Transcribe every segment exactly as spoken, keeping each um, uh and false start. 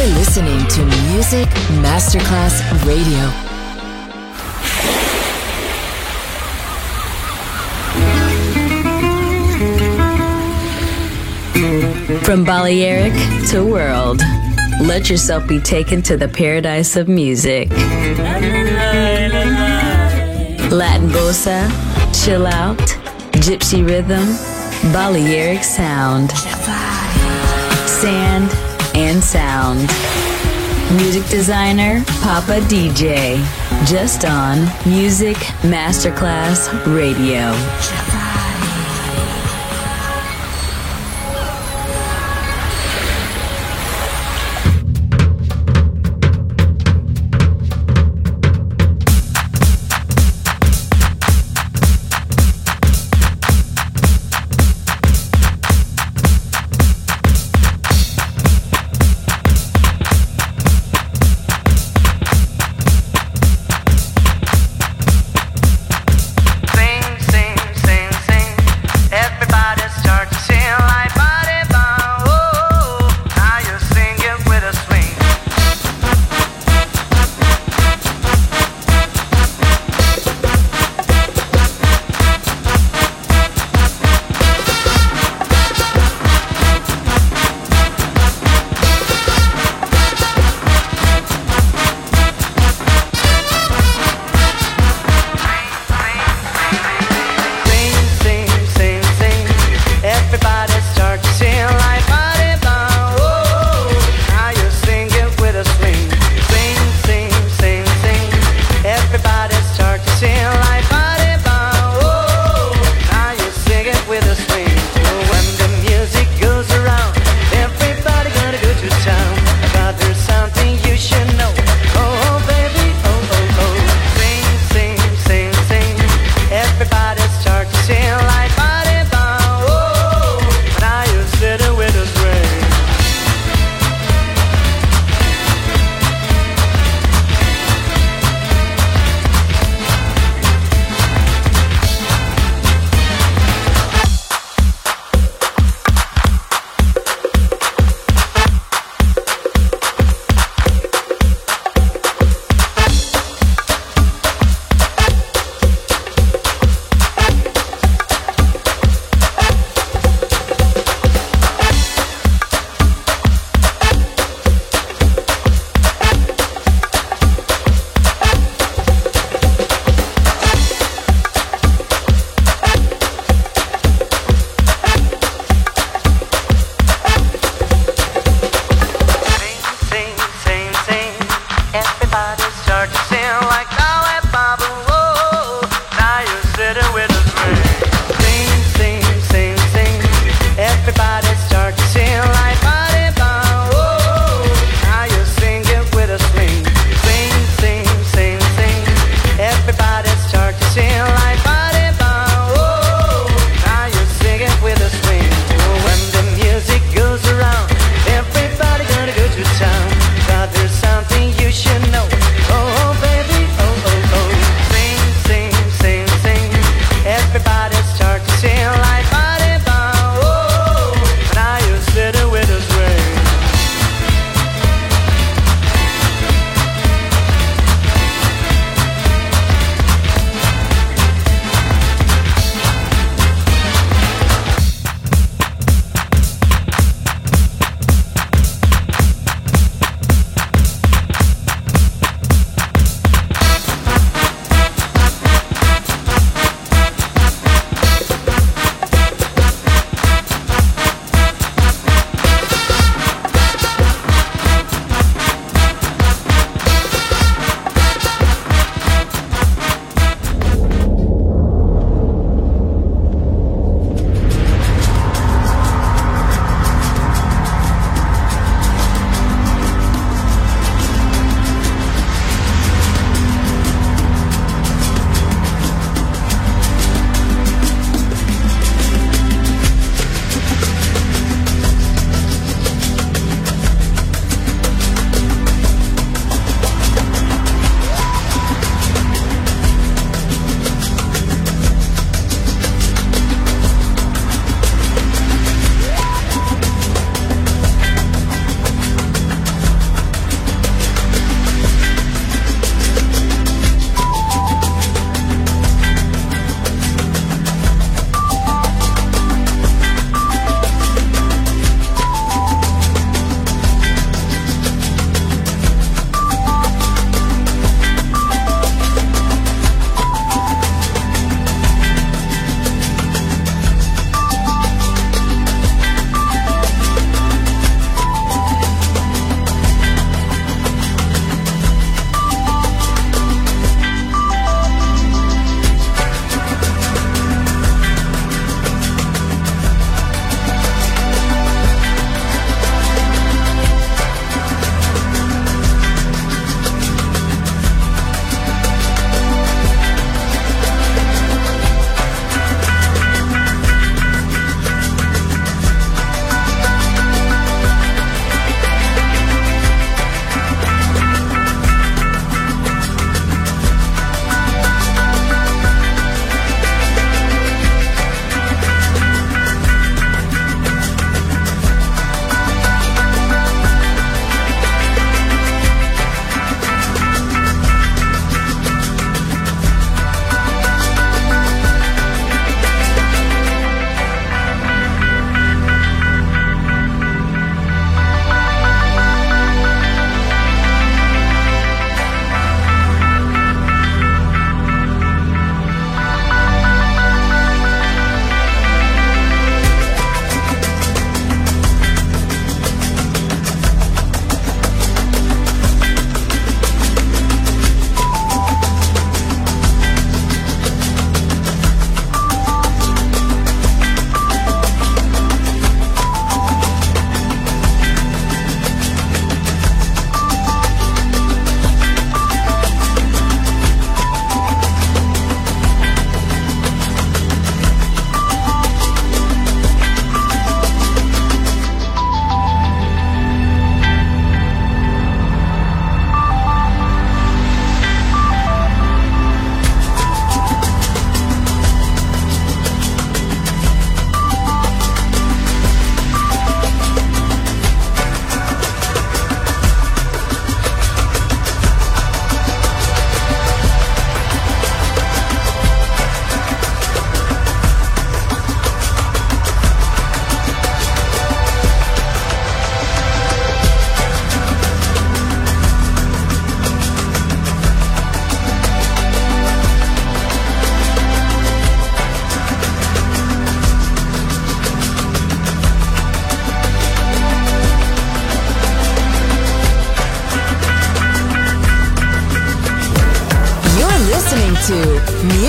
You're listening to Music Masterclass Radio. From Balearic to world, let yourself be taken to the paradise of music. Latin bossa, chill out, gypsy rhythm, Balearic sound, sand and sound. Music designer, Papa D J, just on Music Masterclass Radio. Sing, sing, sing.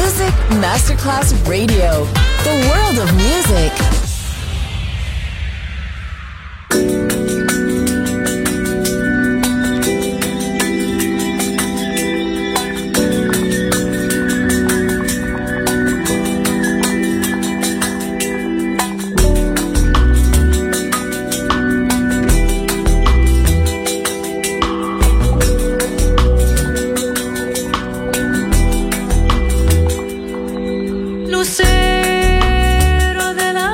Music Masterclass Radio. The world of music. Lucero de la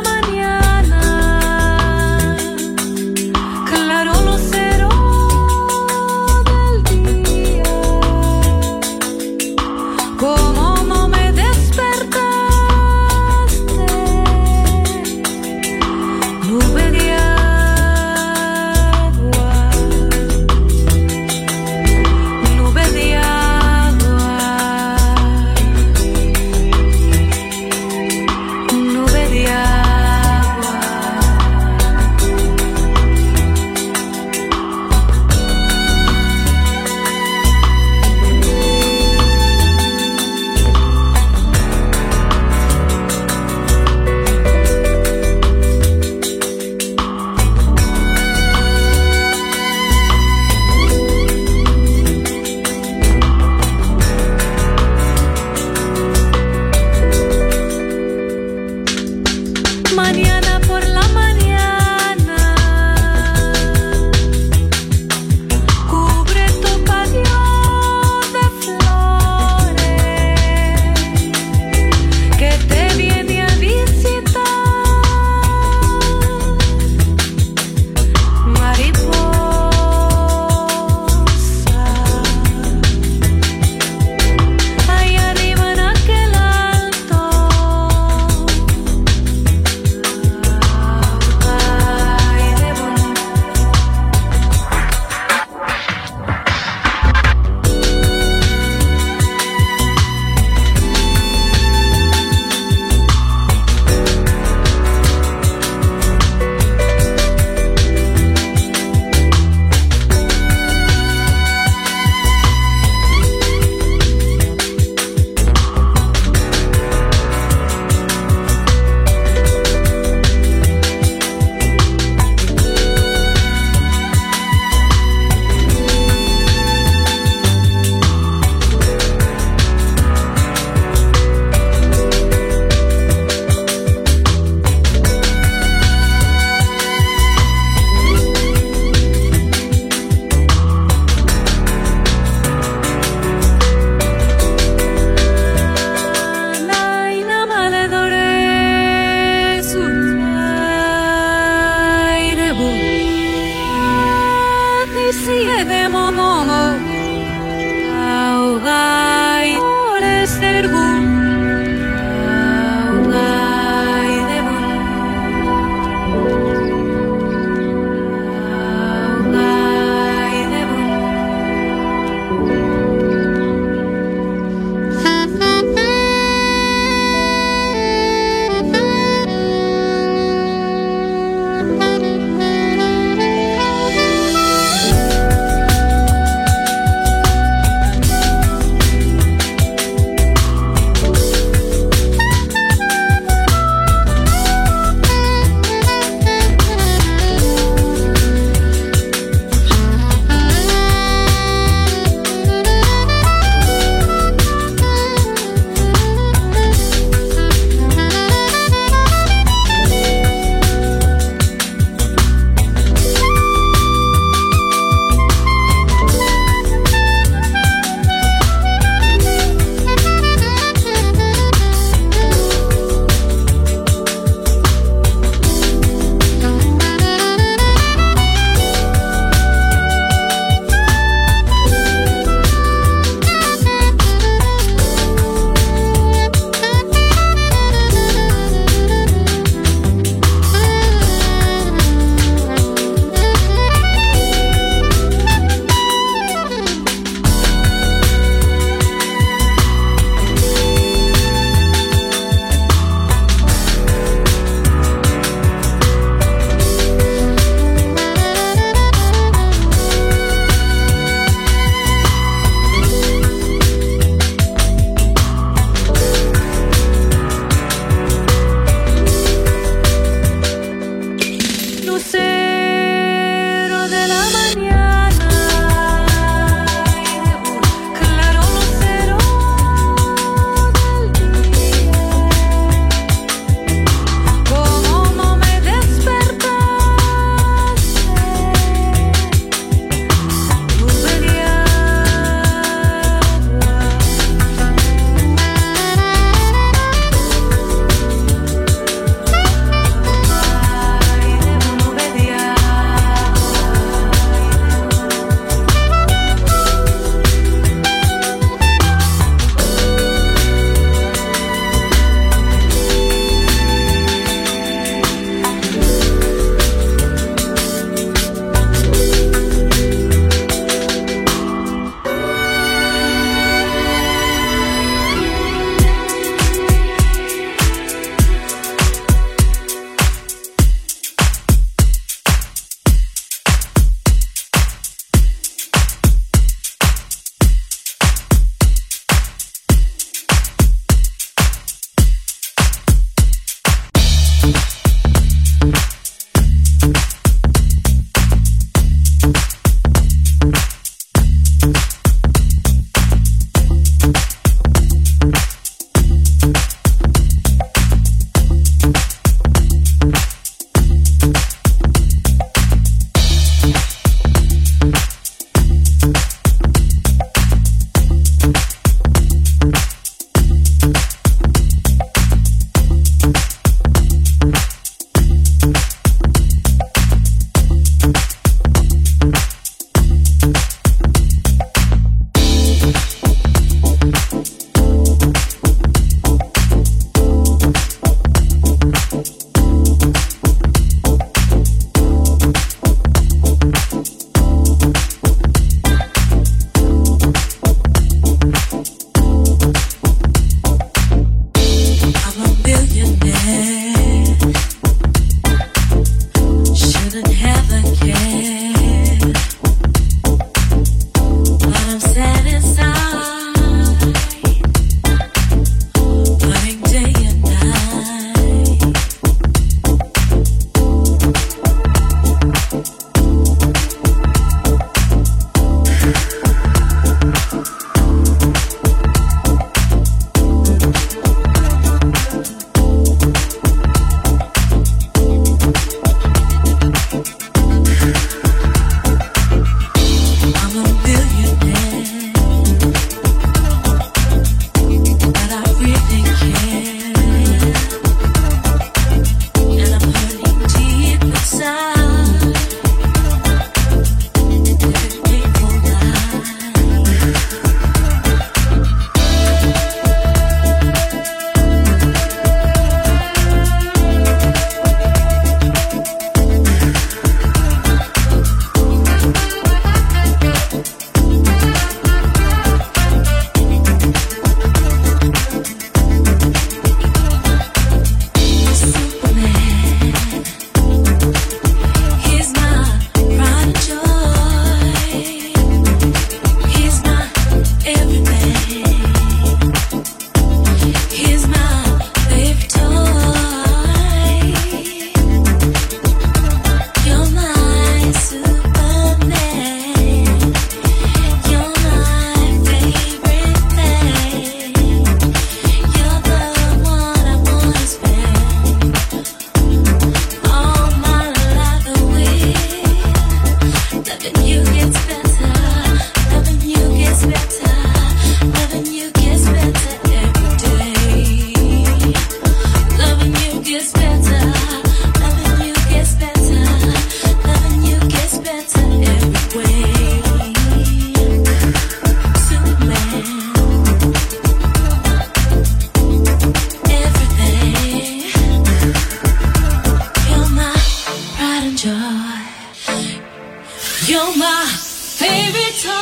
You're my favorite toy,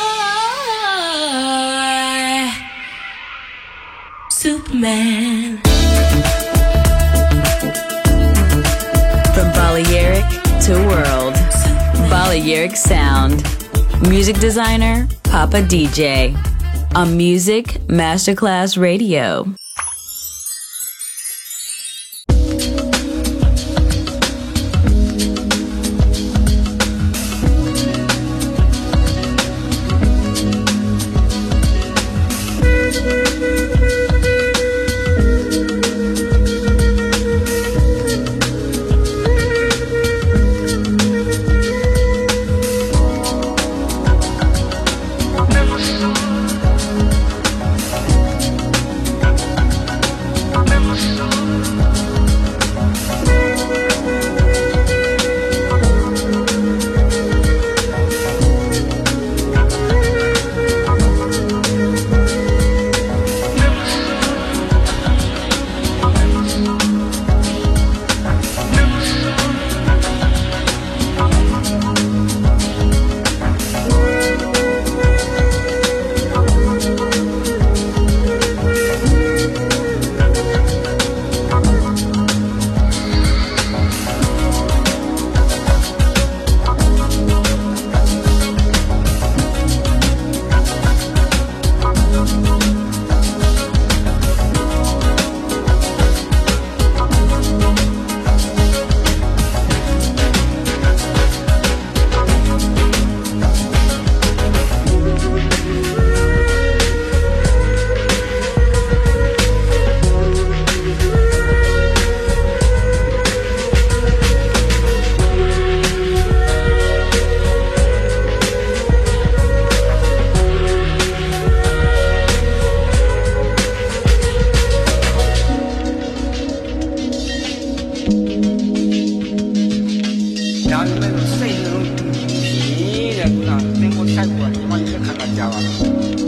Superman. From Balearic to world, Balearic sound. Music designer, Papa D J. On Music Masterclass Radio. ကြပါမယ်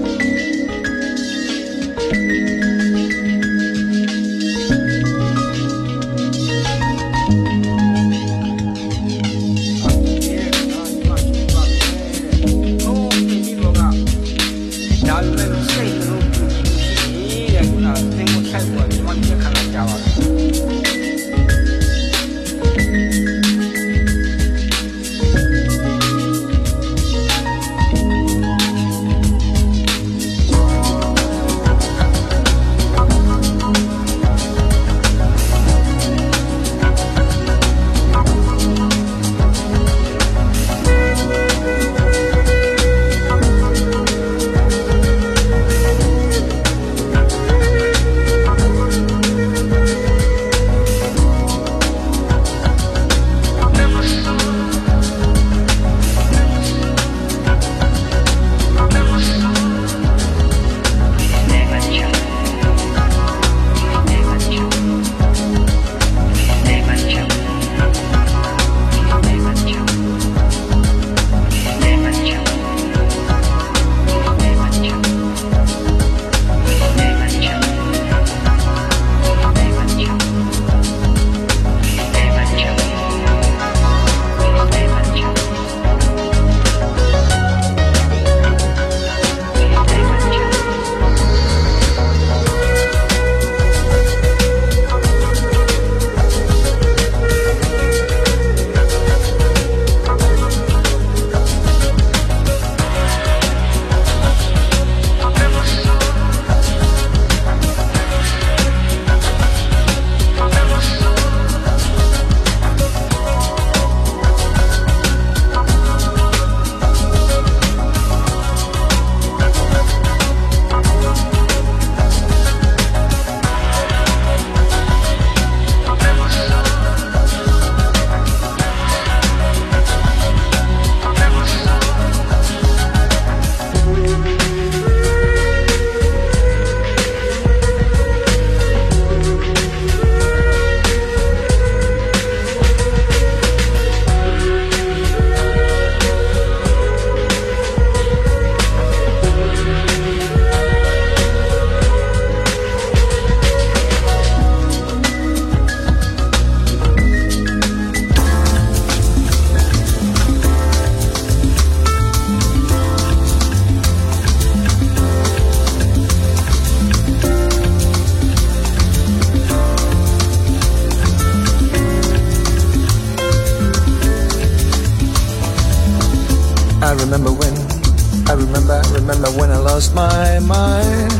My mind,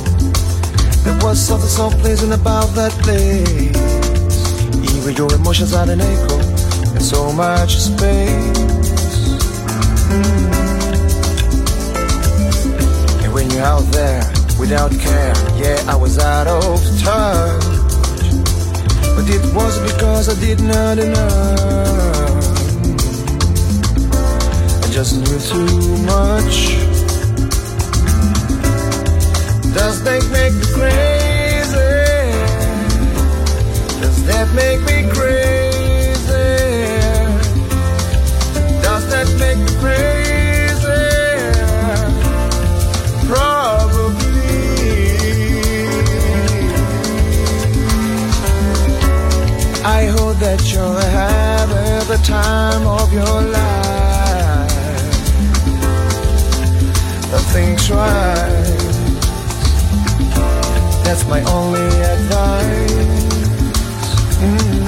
there was something so pleasant about that place. Even your emotions had an echo in so much space. Mm. And when you're out there without care, yeah, I was out of touch. But it was because I did not enough. I just knew too much. Does that make me crazy? Does that make me crazy? Does that make me crazy? Probably. I hope that you're having the time of your life. The things right. That's my only advice. Mm.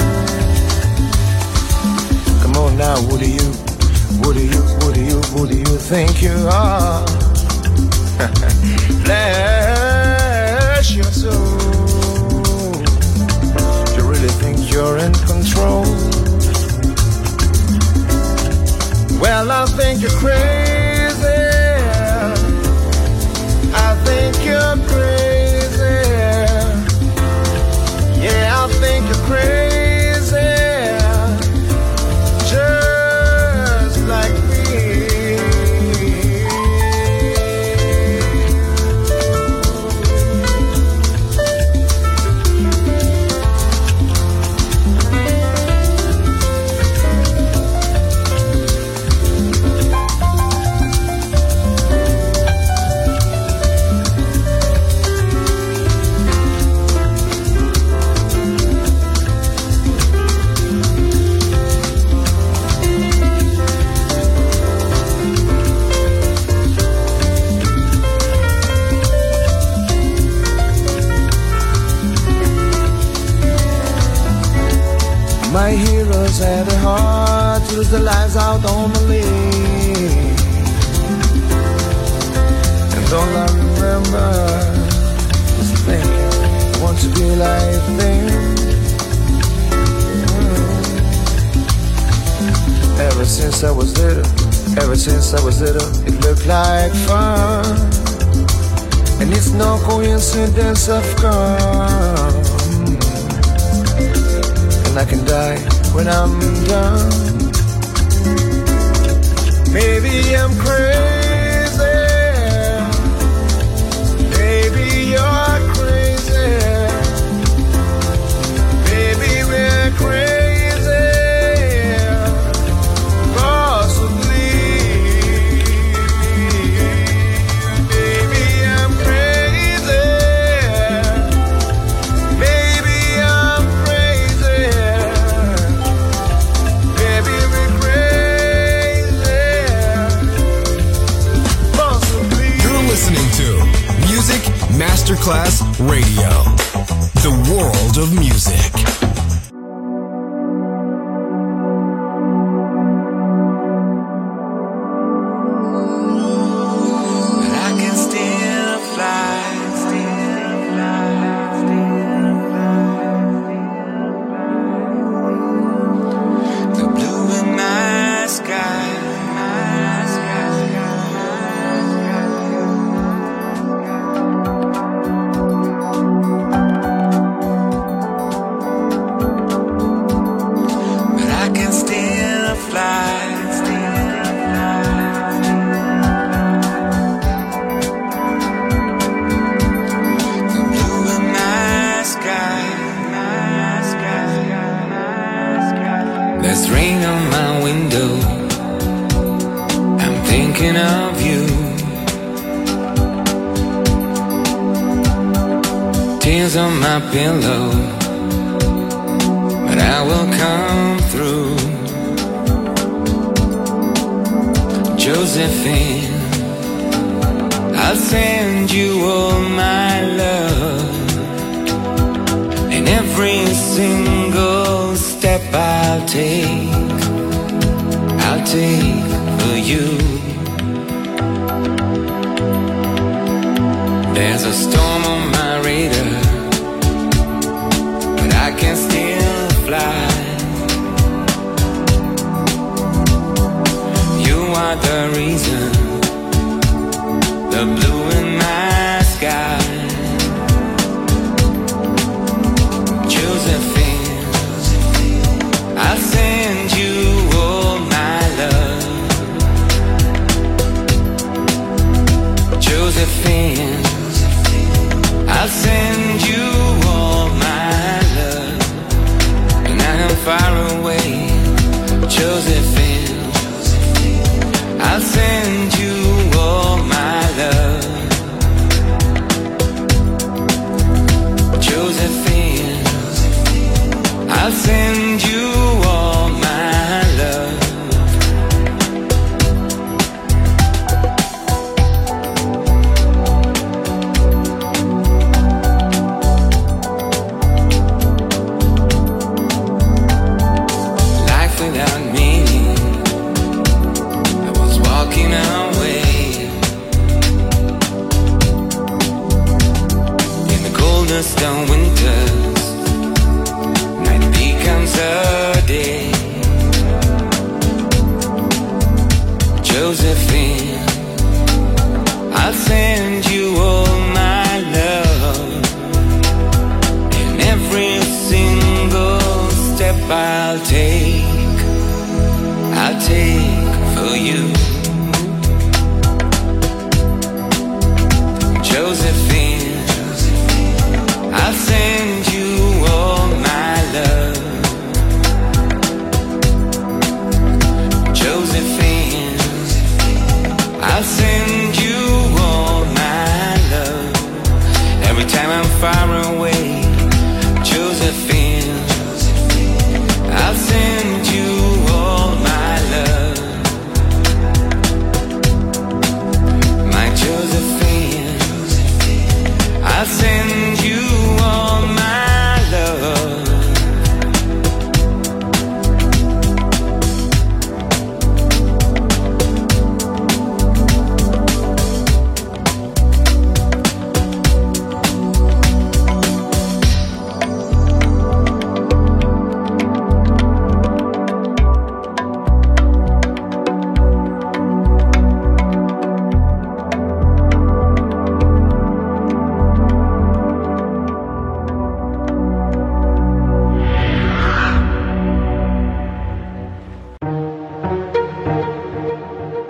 Come on now, who do you, who do you, who do you, who do you think you are? Bless your soul. Do you really think you're in control? Well, I think you're crazy. I think you're crazy. Yeah, I think you're crazy, just like me. lose their lives out on the lake. And all I remember is thinking I want to be like them. Ever since I was little, ever since I was little, it looked like fun. And it's no coincidence I've come. And I can die when I'm done. Maybe I'm crazy. Maybe you're crazy. Maybe we're crazy. Masterclass Radio, the world of music. Pillow, but I will come through. Josephine, I'll send you all my love, and every single step I'll take, I'll take for you. There's a storm on my radar, I can still fly. You are the reason, the blue in my sky. Josephine, I'll send you all my love. Josephine, I'll send you all my love. I'm far away, Josephine, I'll send you all my love. Josephine, I'll send you all my love. On winters, night becomes a day. Josephine, I'll send you all my love, and every single step I'll take, I'll take for you. Josephine, I'll send you all my love. Josephine, I'll send you all my love. Every time I'm far away, Josephine, I'll send you all my love. My Josephine, I'll send you all my love.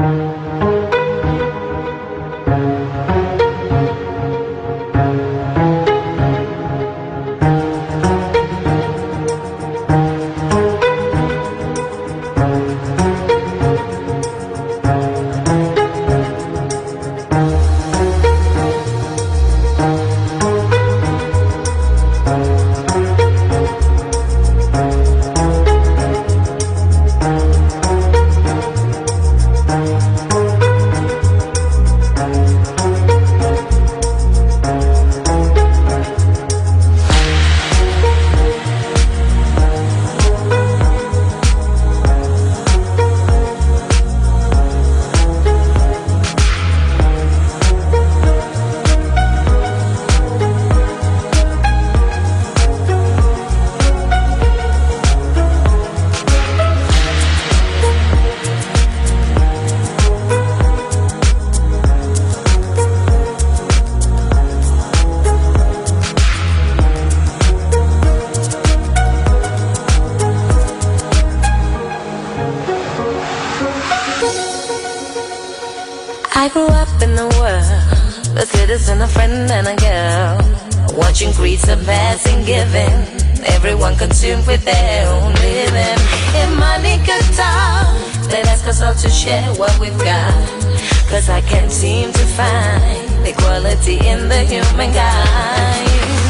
I grew up in the world, a citizen, a friend and a girl, watching creeds of passing, giving, everyone consumed with their own living. If money could talk, they'd ask us all to share what we've got, cause I can't seem to find equality in the human kind.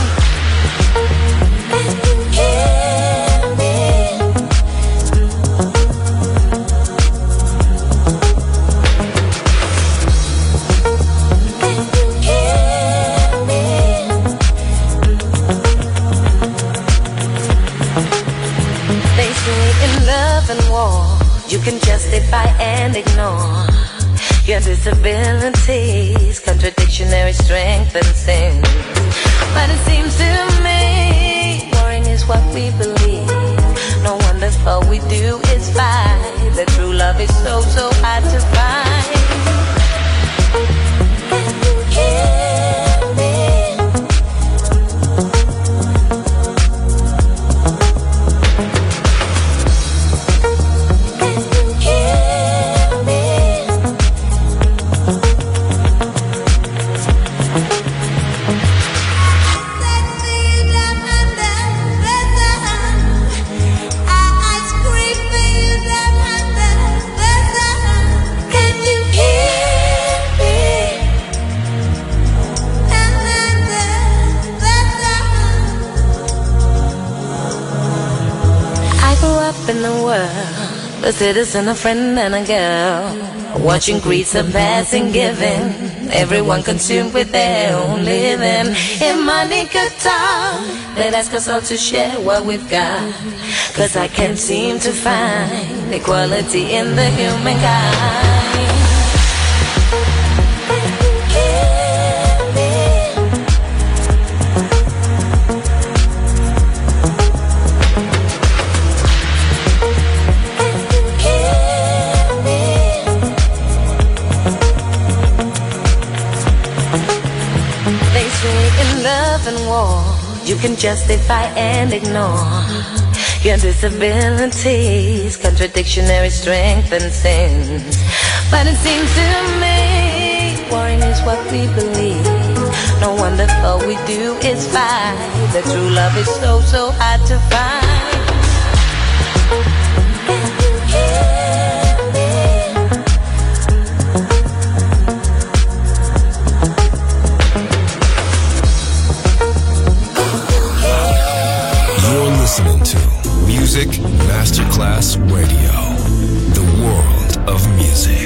You can justify and ignore your disabilities, contradictionary strength and sin. But it seems to me, warring is what we believe. No wonder all we do is fight. The true love is so, so hard to find. In the world, a citizen, a friend and a girl, watching creeds of passing, giving, everyone consumed with their own living. If money could talk, they'd ask us all to share what we've got, cause I can't seem to find equality in the human kind. And war, you can justify and ignore your disabilities, contradictionary strength and sins. But it seems to me, warring is what we believe. No wonder all we do is fight. The true love is so, so hard to find. Listening to Music Masterclass Radio, the world of music.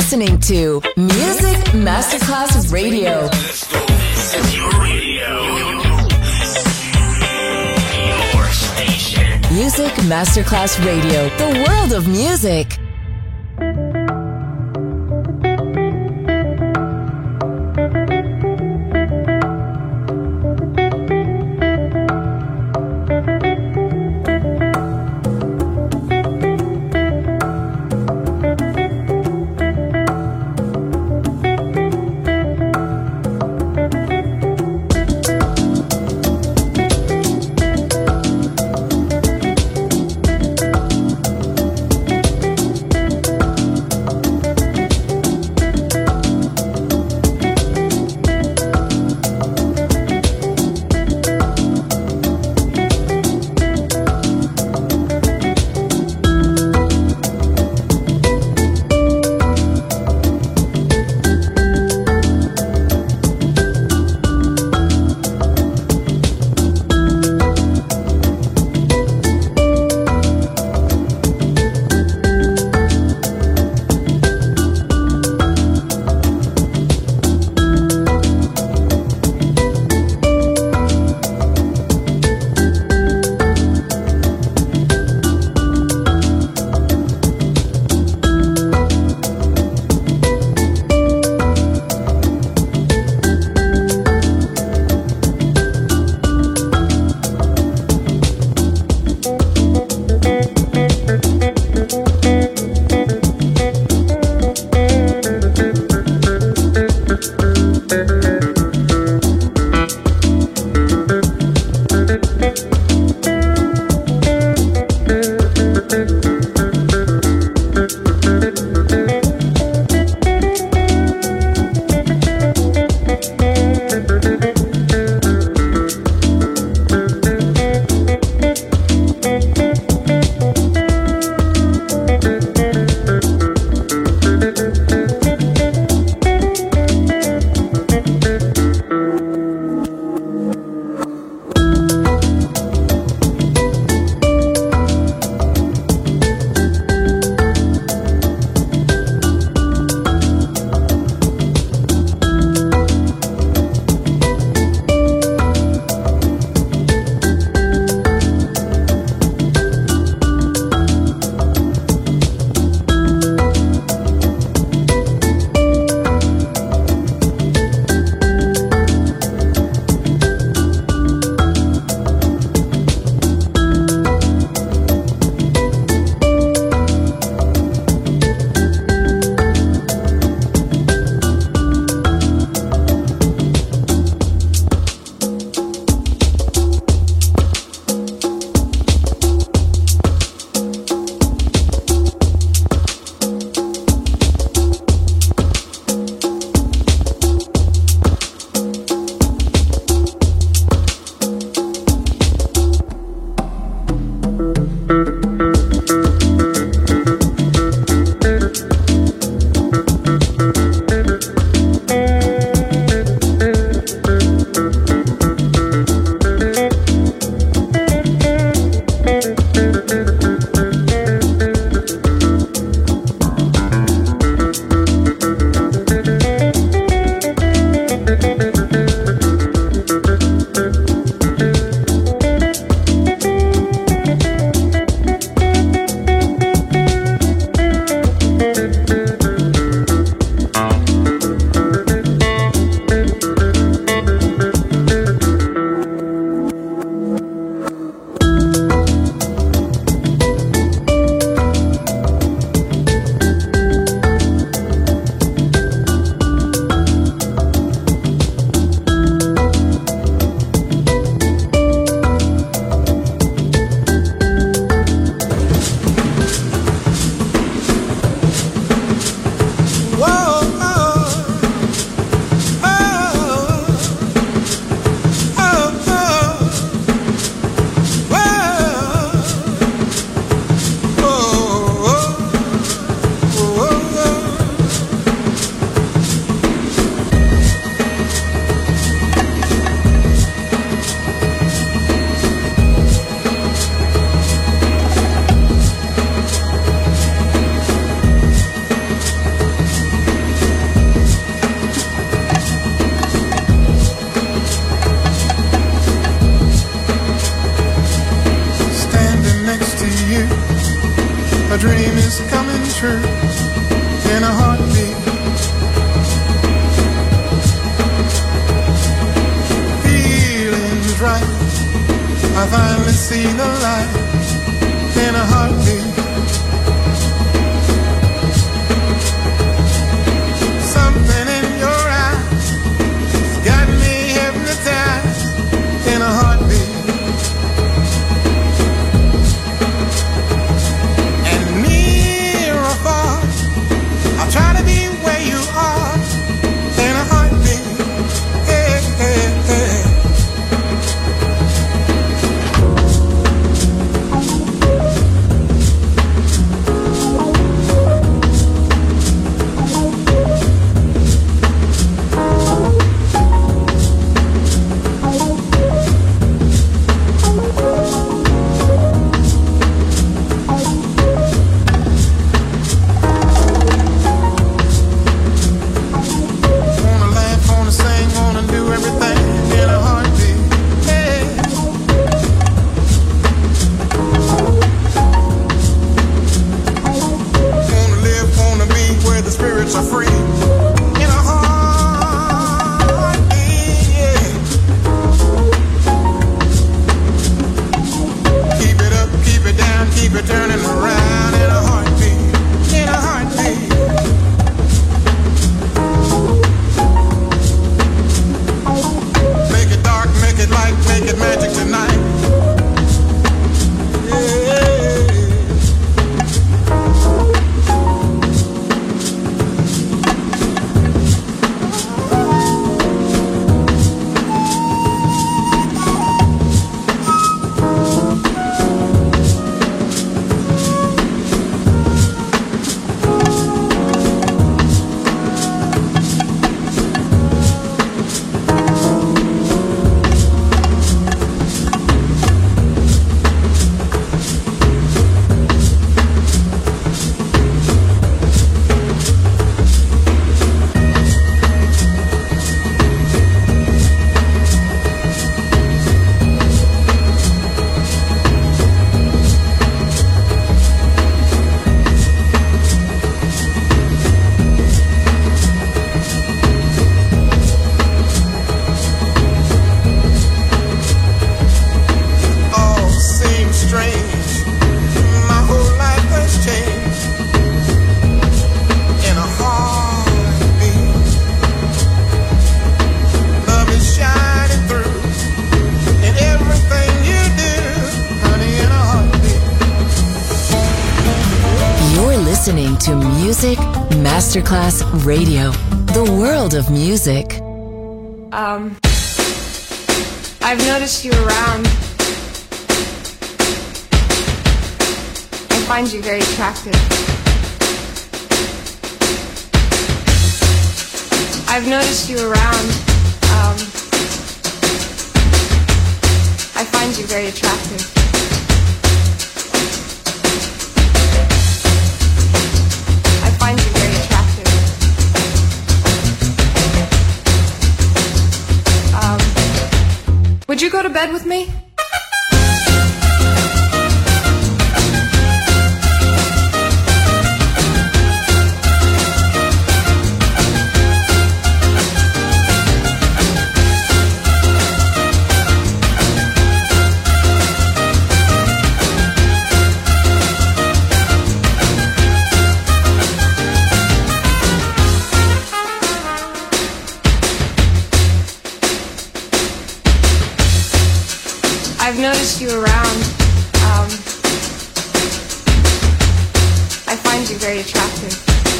listening to Music Masterclass Radio. This is your radio. Your station. Music Masterclass Radio. The world of music. is coming true in a heartbeat. Feelings right, I finally see the light in a heartbeat. Something in your eyes got me hypnotized in a heartbeat. I'll try to be where you are in a heartbeat. Hey, hey, hey. To Music Masterclass Radio, the world of music. Um, I've noticed you around. I find you very attractive. I've noticed you around. Um, I find you very attractive. Would you go to bed with me? I've noticed you around. Um, I find you very attractive.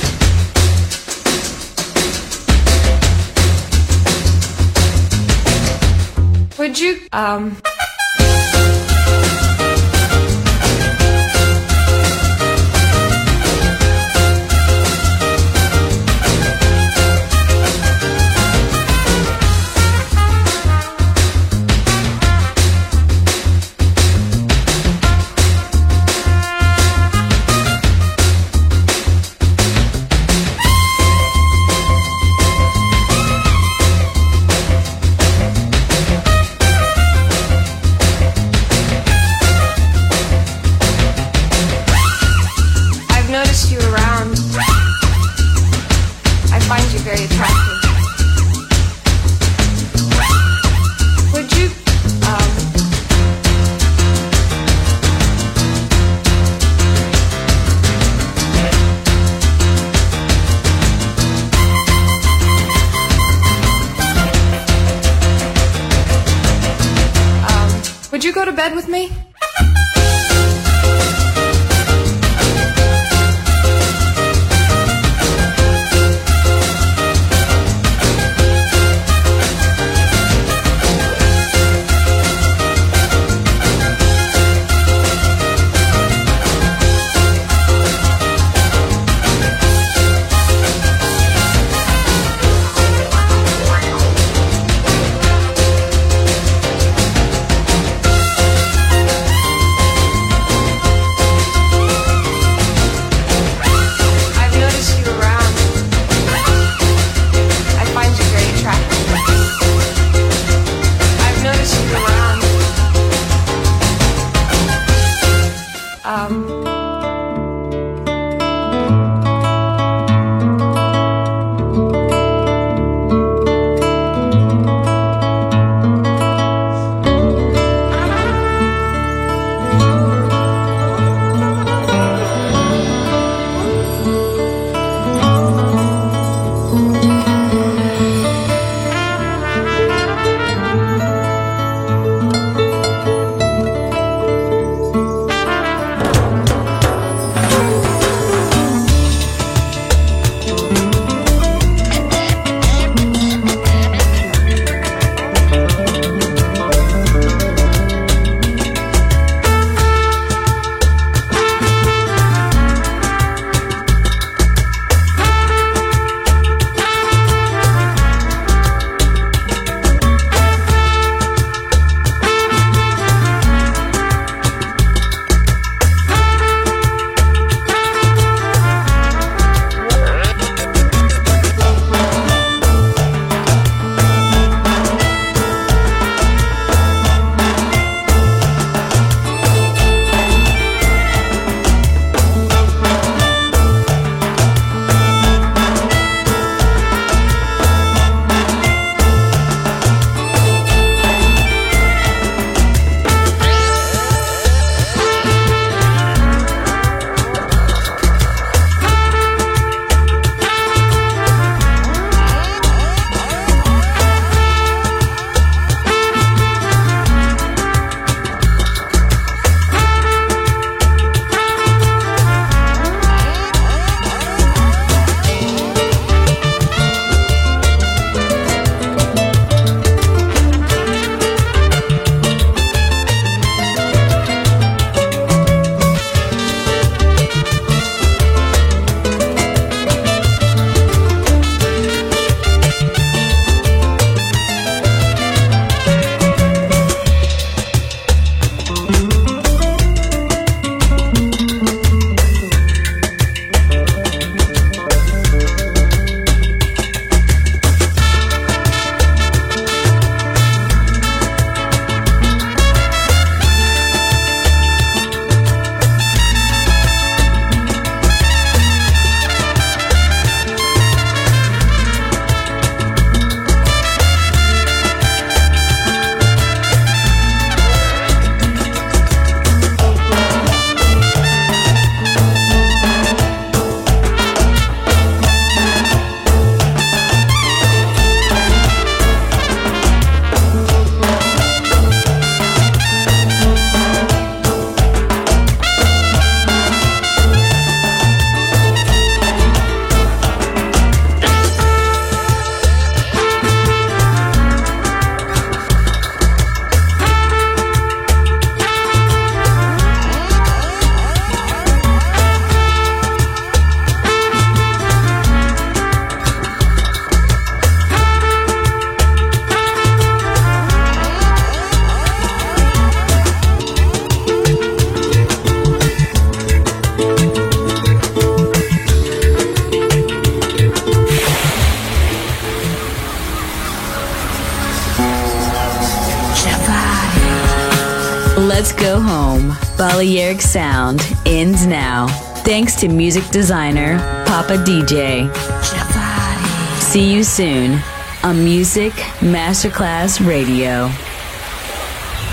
Would you, um... Would you go to bed with me? Let's go home. Balearic Sound ends now. Thanks to music designer Papa D J. See you soon on Music Masterclass Radio.